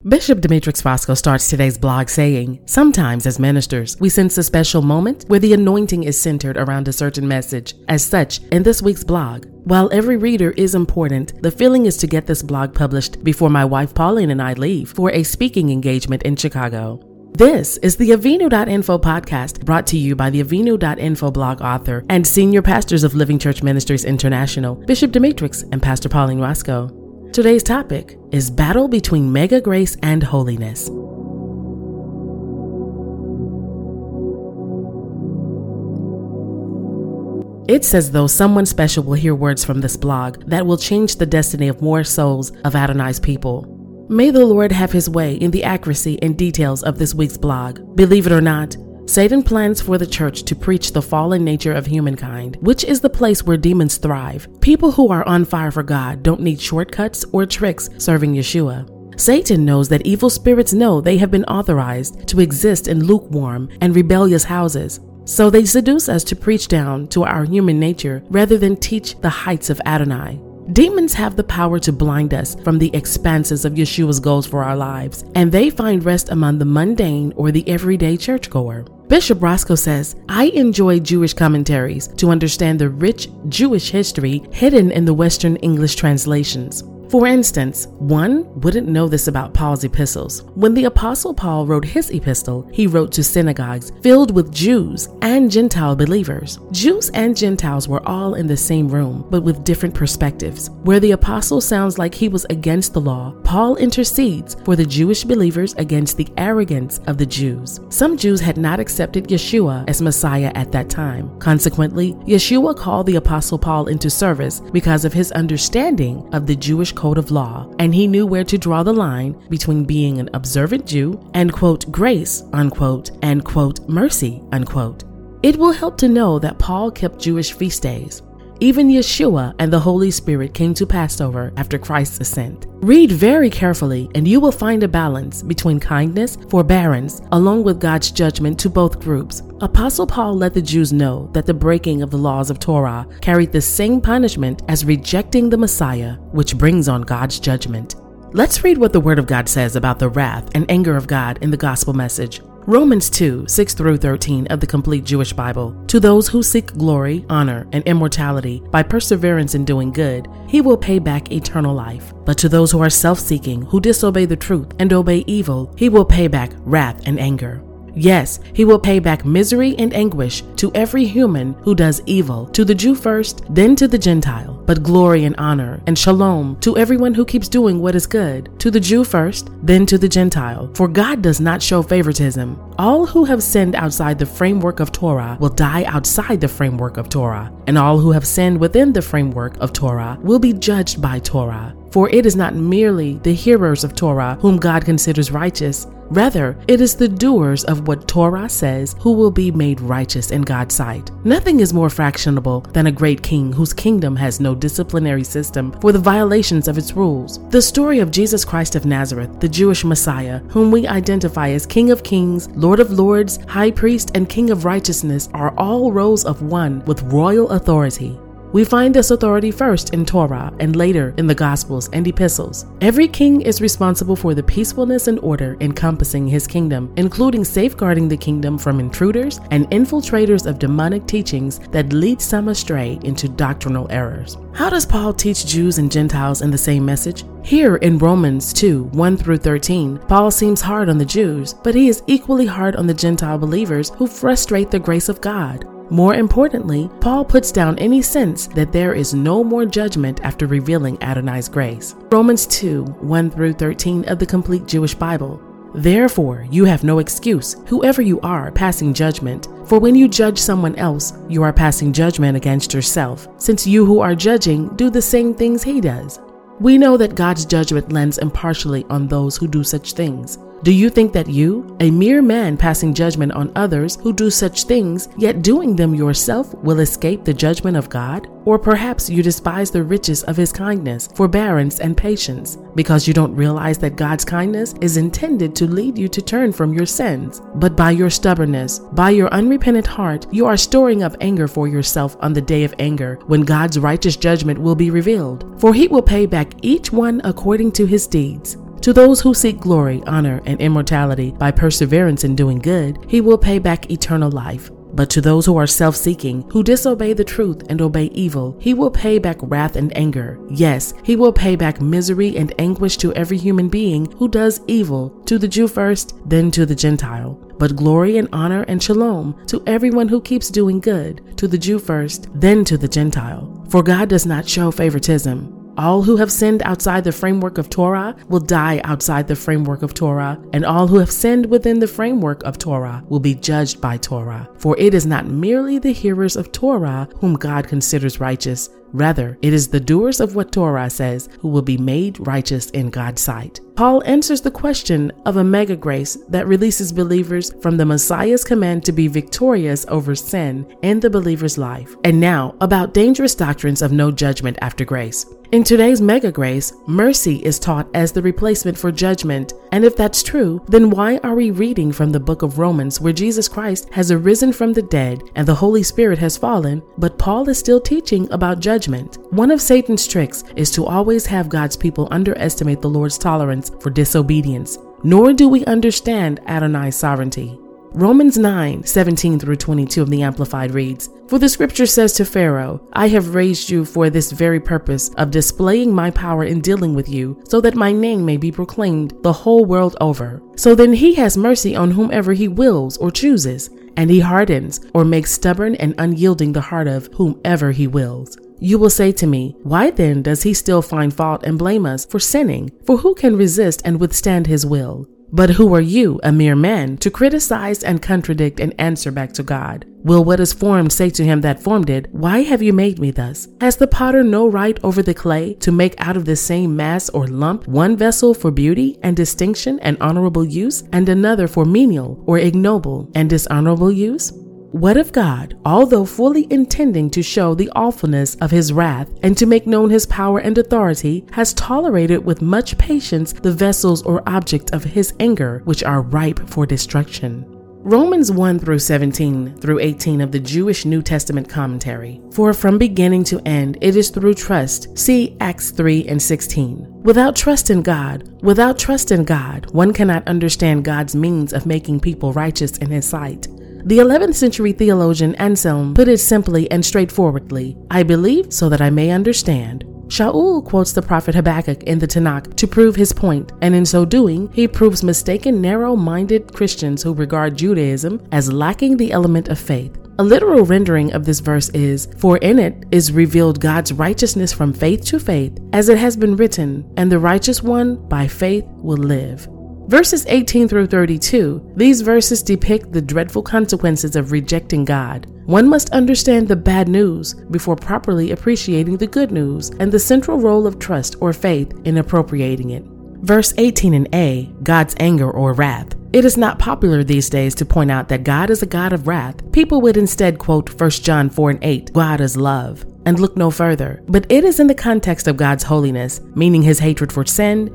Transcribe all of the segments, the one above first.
Bishop Demetrix Fosco starts today's blog saying, sometimes as ministers, we sense a special moment where the anointing is centered around a certain message. As such, in this week's blog, while every reader is important, the feeling is to get this blog published before my wife Pauline and I leave for a speaking engagement in Chicago. This is the Avinu.info podcast brought to you by the Avinu.info blog author and senior pastors of Living Church Ministries International, Bishop Demetrix and Pastor Pauline Roscoe. Today's topic is battle between mega grace and holiness. It's as though someone special will hear words from this blog that will change the destiny of more souls of Adonai's people. May the Lord have his way in the accuracy and details of this week's blog. Believe it or not, Satan plans for the church to preach the fallen nature of humankind, which is the place where demons thrive. People who are on fire for God don't need shortcuts or tricks serving Yeshua. Satan knows that evil spirits know they have been authorized to exist in lukewarm and rebellious houses. So they seduce us to preach down to our human nature rather than teach the heights of Adonai. Demons have the power to blind us from the expanses of Yeshua's goals for our lives, and they find rest among the mundane or the everyday churchgoer. Bishop Roscoe says, I enjoy Jewish commentaries to understand the rich Jewish history hidden in the Western English translations. For instance, one wouldn't know this about Paul's epistles. When the Apostle Paul wrote his epistle, he wrote to synagogues filled with Jews and Gentile believers. Jews and Gentiles were all in the same room, but with different perspectives. Where the apostle sounds like he was against the law, Paul intercedes for the Jewish believers against the arrogance of the Jews. Some Jews had not accepted Yeshua as Messiah at that time. Consequently, Yeshua called the Apostle Paul into service because of his understanding of the Jewish code of law, and he knew where to draw the line between being an observant Jew and, quote, grace, unquote, and, quote, mercy, unquote. It will help to know that Paul kept Jewish feast days. Even Yeshua and the Holy Spirit came to Passover after Christ's ascent. Read very carefully and you will find a balance between kindness, forbearance, along with God's judgment to both groups. Apostle Paul let the Jews know that the breaking of the laws of Torah carried the same punishment as rejecting the Messiah, which brings on God's judgment. Let's read what the Word of God says about the wrath and anger of God in the gospel message. Romans 2, 6 through 13 of the Complete Jewish Bible. To those who seek glory, honor, and immortality by perseverance in doing good, he will pay back eternal life. But to those who are self-seeking, who disobey the truth and obey evil, he will pay back wrath and anger. Yes, he will pay back misery and anguish to every human who does evil, to the Jew first, then to the Gentile, but glory and honor and shalom to everyone who keeps doing what is good, to the Jew first, then to the Gentile. For God does not show favoritism. All who have sinned outside the framework of Torah will die outside the framework of Torah, and all who have sinned within the framework of Torah will be judged by Torah. For it is not merely the hearers of Torah whom God considers righteous. Rather, it is the doers of what Torah says who will be made righteous in God's sight. Nothing is more fractionable than a great king whose kingdom has no disciplinary system for the violations of its rules. The story of Jesus Christ of Nazareth, the Jewish Messiah, whom we identify as King of Kings, Lord of Lords, High Priest, and King of Righteousness, are all roles of one with royal authority. We find this authority first in Torah and later in the Gospels and Epistles. Every king is responsible for the peacefulness and order encompassing his kingdom, including safeguarding the kingdom from intruders and infiltrators of demonic teachings that lead some astray into doctrinal errors. How does Paul teach Jews and Gentiles in the same message? Here in Romans 2, 1 through 13, Paul seems hard on the Jews, but he is equally hard on the Gentile believers who frustrate the grace of God. More importantly, Paul puts down any sense that there is no more judgment after revealing Adonai's grace. Romans 2, 1 through 13 of the Complete Jewish Bible. Therefore, you have no excuse, whoever you are, passing judgment. For when you judge someone else, you are passing judgment against yourself, since you who are judging do the same things he does. We know that God's judgment lands impartially on those who do such things. Do you think that you, a mere man passing judgment on others who do such things, yet doing them yourself, will escape the judgment of God? Or perhaps you despise the riches of his kindness, forbearance, and patience, because you don't realize that God's kindness is intended to lead you to turn from your sins. But by your stubbornness, by your unrepentant heart, you are storing up anger for yourself on the day of anger, when God's righteous judgment will be revealed. For he will pay back each one according to his deeds. To those who seek glory, honor, and immortality by perseverance in doing good, he will pay back eternal life. But to those who are self-seeking, who disobey the truth and obey evil, he will pay back wrath and anger. Yes, he will pay back misery and anguish to every human being who does evil, to the Jew first, then to the Gentile. But glory and honor and shalom to everyone who keeps doing good, to the Jew first, then to the Gentile. For God does not show favoritism. All who have sinned outside the framework of Torah will die outside the framework of Torah, and all who have sinned within the framework of Torah will be judged by Torah. For it is not merely the hearers of Torah whom God considers righteous. Rather, it is the doers of what Torah says who will be made righteous in God's sight. Paul answers the question of a mega grace that releases believers from the Messiah's command to be victorious over sin in the believer's life. And now, about dangerous doctrines of no judgment after grace. In today's mega grace, mercy is taught as the replacement for judgment. And if that's true, then why are we reading from the book of Romans where Jesus Christ has arisen from the dead and the Holy Spirit has fallen, but Paul is still teaching about judgment? One of Satan's tricks is to always have God's people underestimate the Lord's tolerance for disobedience. Nor do we understand Adonai's sovereignty. Romans 9:17 through 22 of the Amplified reads, "For the scripture says to Pharaoh, I have raised you for this very purpose of displaying my power in dealing with you, so that my name may be proclaimed the whole world over. So then he has mercy on whomever he wills or chooses, and he hardens or makes stubborn and unyielding the heart of whomever he wills." You will say to me, why then does he still find fault and blame us for sinning? For who can resist and withstand his will? But who are you, a mere man, to criticize and contradict and answer back to God? Will what is formed say to him that formed it, why have you made me thus? Has the potter no right over the clay to make out of the same mass or lump one vessel for beauty and distinction and honorable use, and another for menial or ignoble and dishonorable use? What if God, although fully intending to show the awfulness of his wrath and to make known his power and authority, has tolerated with much patience the vessels or object of his anger, which are ripe for destruction? Romans 1 through 17 through 18 of the Jewish New Testament commentary. For from beginning to end, it is through trust. See Acts 3 and 16. Without trust in God, one cannot understand God's means of making people righteous in his sight. The 11th century theologian Anselm put it simply and straightforwardly, I believe so that I may understand. Shaul quotes the prophet Habakkuk in the Tanakh to prove his point, and in so doing, he proves mistaken, narrow-minded Christians who regard Judaism as lacking the element of faith. A literal rendering of this verse is, for in it is revealed God's righteousness from faith to faith, as it has been written, and the righteous one by faith will live. Verses 18 through 32, these verses depict the dreadful consequences of rejecting God. One must understand the bad news before properly appreciating the good news and the central role of trust or faith in appropriating it. Verse 18 in A, God's anger or wrath. It is not popular these days to point out that God is a God of wrath. People would instead quote 1 John 4 and 8, God is love, and look no further. But it is in the context of God's holiness, meaning his hatred for sin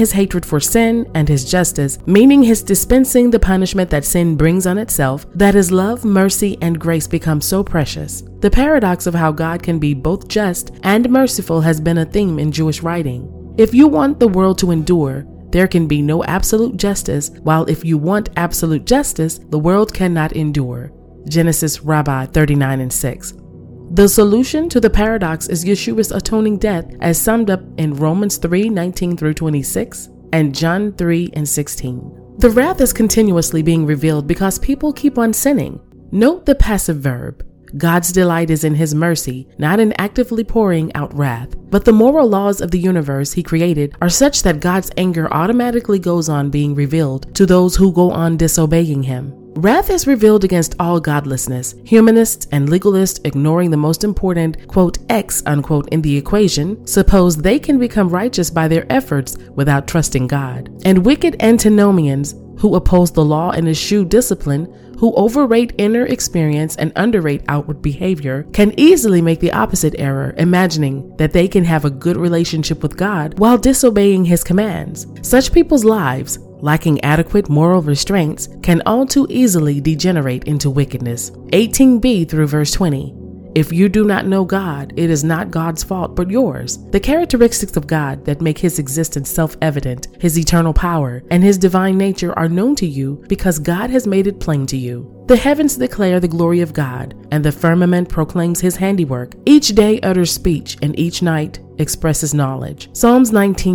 and his justice, meaning his dispensing the punishment that sin brings on itself, that his love, mercy, and grace become so precious. The paradox of how God can be both just and merciful has been a theme in Jewish writing. If you want the world to endure, there can be no absolute justice, while if you want absolute justice, the world cannot endure. Genesis Rabbi 39 and 6. The solution to the paradox is Yeshua's atoning death as summed up in Romans 3:19 through 26 and John 3 and 16. The wrath is continuously being revealed because people keep on sinning. Note the passive verb. God's delight is in his mercy, not in actively pouring out wrath. But the moral laws of the universe he created are such that God's anger automatically goes on being revealed to those who go on disobeying him. Wrath is revealed against all godlessness. Humanists and legalists, ignoring the most important, quote, X, unquote, in the equation, suppose they can become righteous by their efforts without trusting God. And wicked antinomians who oppose the law and eschew discipline, who overrate inner experience and underrate outward behavior, can easily make the opposite error, imagining that they can have a good relationship with God while disobeying his commands. Such people's lives, lacking adequate moral restraints, can all too easily degenerate into wickedness. 18b through verse 20. If you do not know God, it is not God's fault, but yours. The characteristics of God that make his existence self-evident, his eternal power, and his divine nature are known to you because God has made it plain to you. The heavens declare the glory of God, and the firmament proclaims his handiwork. Each day utters speech, and each night expresses knowledge. Psalms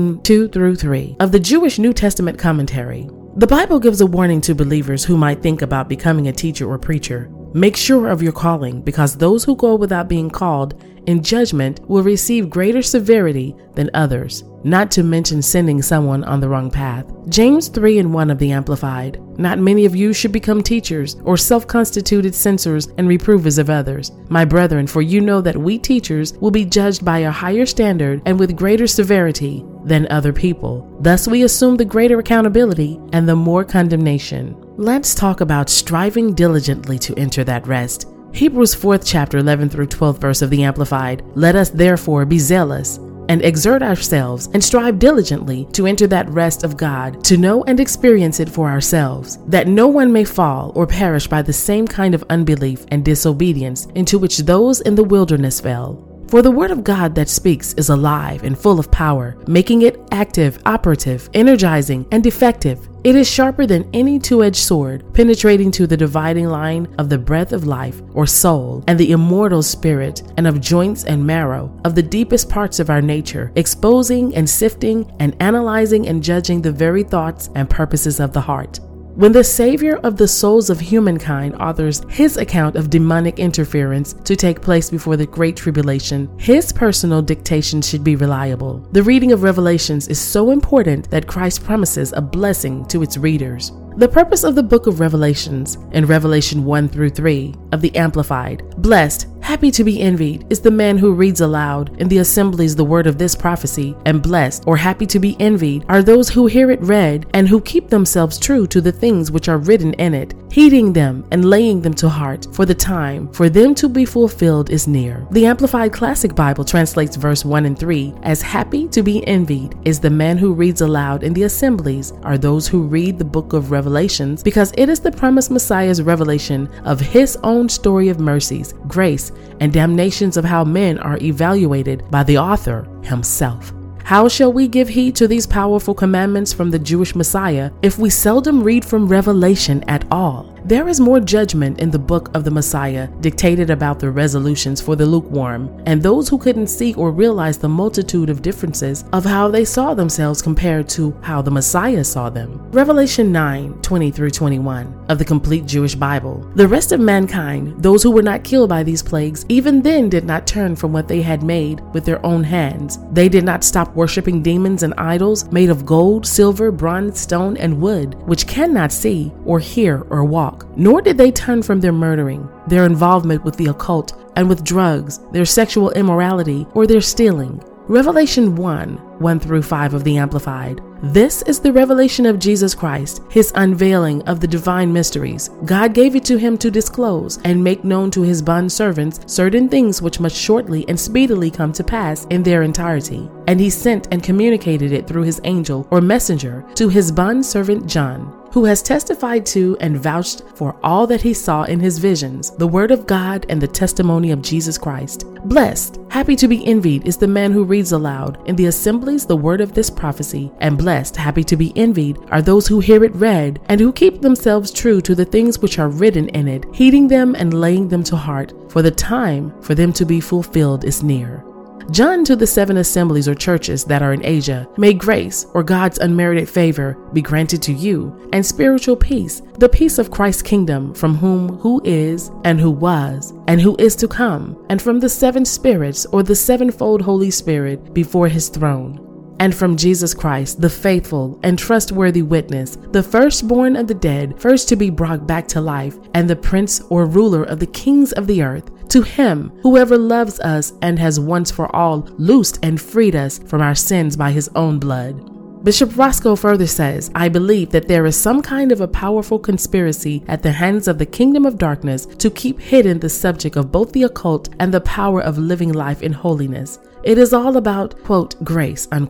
19:2-3 of the Jewish New Testament commentary. The Bible gives a warning to believers who might think about becoming a teacher or preacher. Make sure of your calling, because those who go without being called in judgment will receive greater severity than others, not to mention sending someone on the wrong path. James 3:1 of the Amplified. Not many of you should become teachers or self-constituted censors and reprovers of others, my brethren, for you know that we teachers will be judged by a higher standard and with greater severity than other people. Thus we assume the greater accountability and the more condemnation. Let's talk about striving diligently to enter that rest. Hebrews 4th chapter 11-12 verse of the Amplified. Let us therefore be zealous and exert ourselves and strive diligently to enter that rest of God, to know and experience it for ourselves, that no one may fall or perish by the same kind of unbelief and disobedience into which those in the wilderness fell. For the word of God that speaks is alive and full of power, making it active, operative, energizing, and effective. It is sharper than any two-edged sword, penetrating to the dividing line of the breath of life or soul and the immortal spirit, and of joints and marrow, of the deepest parts of our nature, exposing and sifting and analyzing and judging the very thoughts and purposes of the heart. When the Savior of the souls of humankind authors his account of demonic interference to take place before the Great Tribulation, his personal dictation should be reliable. The reading of Revelations is so important that Christ promises a blessing to its readers. The purpose of the book of Revelations, in Revelation 1-3 of the Amplified, blessed, happy to be envied, is the man who reads aloud in the assemblies the word of this prophecy, and blessed or happy to be envied are those who hear it read and who keep themselves true to the things which are written in it, heeding them and laying them to heart, for the time for them to be fulfilled is near. The Amplified Classic Bible translates verse 1 and 3 as happy to be envied is the man who reads aloud in the assemblies are those who read the book of Revelations, because it is the promised Messiah's revelation of his own story of mercies, grace, and damnations of how men are evaluated by the author himself. How shall we give heed to these powerful commandments from the Jewish Messiah if we seldom read from Revelation at all? There is more judgment in the book of the Messiah dictated about the resolutions for the lukewarm and those who couldn't see or realize the multitude of differences of how they saw themselves compared to how the Messiah saw them. Revelation 9:20-21 of the complete Jewish Bible. The rest of mankind, those who were not killed by these plagues, even then did not turn from what they had made with their own hands. They did not stop worshiping demons and idols made of gold, silver, bronze, stone, and wood, which cannot see or hear or walk. Nor did they turn from their murdering, their involvement with the occult and with drugs, their sexual immorality, or their stealing. Revelation 1:1-5 of the Amplified. This is the revelation of Jesus Christ, his unveiling of the divine mysteries. God gave it to him to disclose and make known to his bondservants certain things which must shortly and speedily come to pass in their entirety. And he sent and communicated it through his angel or messenger to his bondservant John, who has testified to and vouched for all that he saw in his visions, the word of God and the testimony of Jesus Christ. Blessed, happy to be envied is the man who reads aloud in the assemblies the word of this prophecy, and blessed, happy to be envied are those who hear it read and who keep themselves true to the things which are written in it, heeding them and laying them to heart, for the time for them to be fulfilled is near. John to the 7 assemblies or churches that are in Asia, may grace or God's unmerited favor be granted to you, and spiritual peace, the peace of Christ's kingdom, from who is, and who was, and who is to come, and from the 7 spirits or the 7-fold Holy Spirit before his throne. And from Jesus Christ, the faithful and trustworthy witness, the firstborn of the dead, first to be brought back to life, and the prince or ruler of the kings of the earth, to him, whoever loves us and has once for all loosed and freed us from our sins by his own blood. Bishop Roscoe further says, I believe that there is some kind of a powerful conspiracy at the hands of the kingdom of darkness to keep hidden the subject of both the occult and the power of living life in holiness. It is all about, quote, grace, unquote.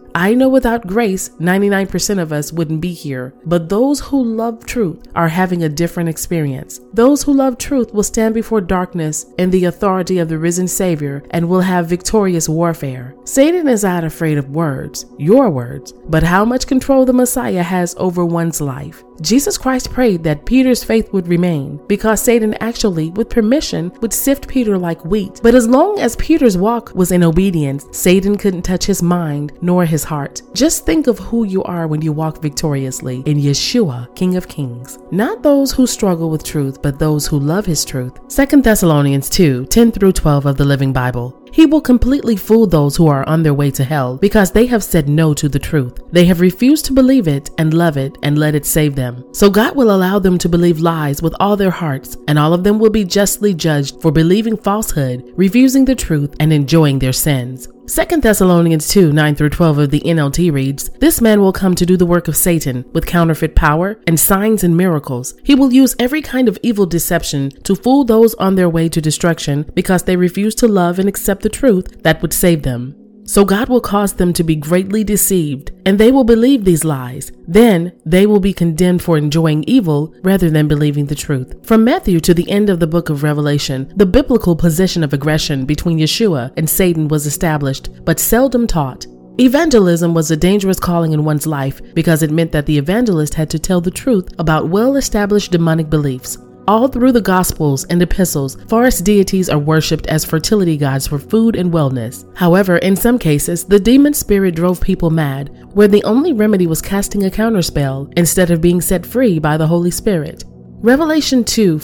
I know without grace, 99% of us wouldn't be here, but those who love truth are having a different experience. Those who love truth will stand before darkness in the authority of the risen Savior and will have victorious warfare. Satan is not afraid of words, your words, but how much control the Messiah has over one's life. Jesus Christ prayed that Peter's faith would remain because Satan actually, with permission, would sift Peter like wheat. But as long as Peter's walk was in obedience, Satan couldn't touch his mind nor his heart. Just think of who you are when you walk victoriously in Yeshua, King of Kings. Not those who struggle with truth, but those who love his truth. 2 Thessalonians 2:10-12 of the Living Bible. He will completely fool those who are on their way to hell because they have said no to the truth. They have refused to believe it and love it and let it save them. So God will allow them to believe lies with all their hearts, and all of them will be justly judged for believing falsehood, refusing the truth, and enjoying their sins. 2 Thessalonians 2:9-12 of the NLT reads, "This man will come to do the work of Satan with counterfeit power and signs and miracles. He will use every kind of evil deception to fool those on their way to destruction because they refuse to love and accept the truth that would save them. So God will cause them to be greatly deceived, and they will believe these lies. Then they will be condemned for enjoying evil rather than believing the truth." From Matthew to the end of the book of Revelation, the biblical position of aggression between Yeshua and Satan was established, but seldom taught. Evangelism was a dangerous calling in one's life because it meant that the evangelist had to tell the truth about well-established demonic beliefs. All through the Gospels and epistles, false deities are worshipped as fertility gods for food and wellness. However, in some cases, the demon spirit drove people mad, where the only remedy was casting a counterspell instead of being set free by the Holy Spirit. Revelation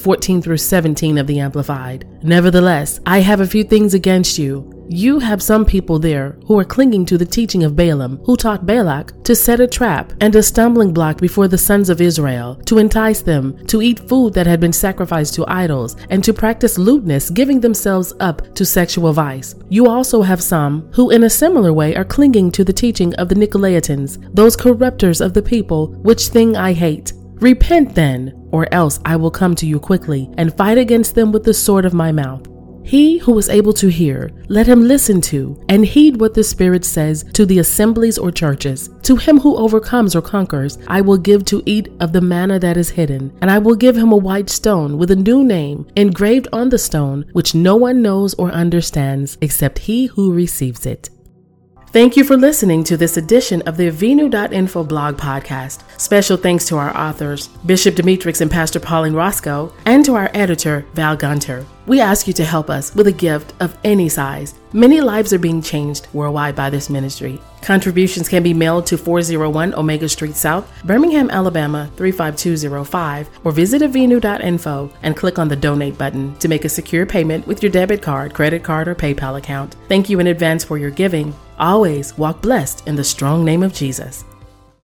2:14-17 of the Amplified. "Nevertheless, I have a few things against you. You have some people there who are clinging to the teaching of Balaam, who taught Balak to set a trap and a stumbling block before the sons of Israel, to entice them to eat food that had been sacrificed to idols, and to practice lewdness, giving themselves up to sexual vice. You also have some who in a similar way are clinging to the teaching of the Nicolaitans, those corrupters of the people, which thing I hate. Repent then, or else I will come to you quickly and fight against them with the sword of my mouth. He who is able to hear, let him listen to and heed what the Spirit says to the assemblies or churches. To him who overcomes or conquers, I will give to eat of the manna that is hidden, and I will give him a white stone with a new name engraved on the stone, which no one knows or understands except he who receives it." Thank you for listening to this edition of the Avinu.info blog podcast. Special thanks to our authors, Bishop Demetrix and Pastor Pauline Roscoe, and to our editor, Val Gunter. We ask you to help us with a gift of any size. Many lives are being changed worldwide by this ministry. Contributions can be mailed to 401 Omega Street South, Birmingham, Alabama 35205, or visit avinu.info and click on the donate button to make a secure payment with your debit card, credit card, or PayPal account. Thank you in advance for your giving. Always walk blessed in the strong name of Jesus.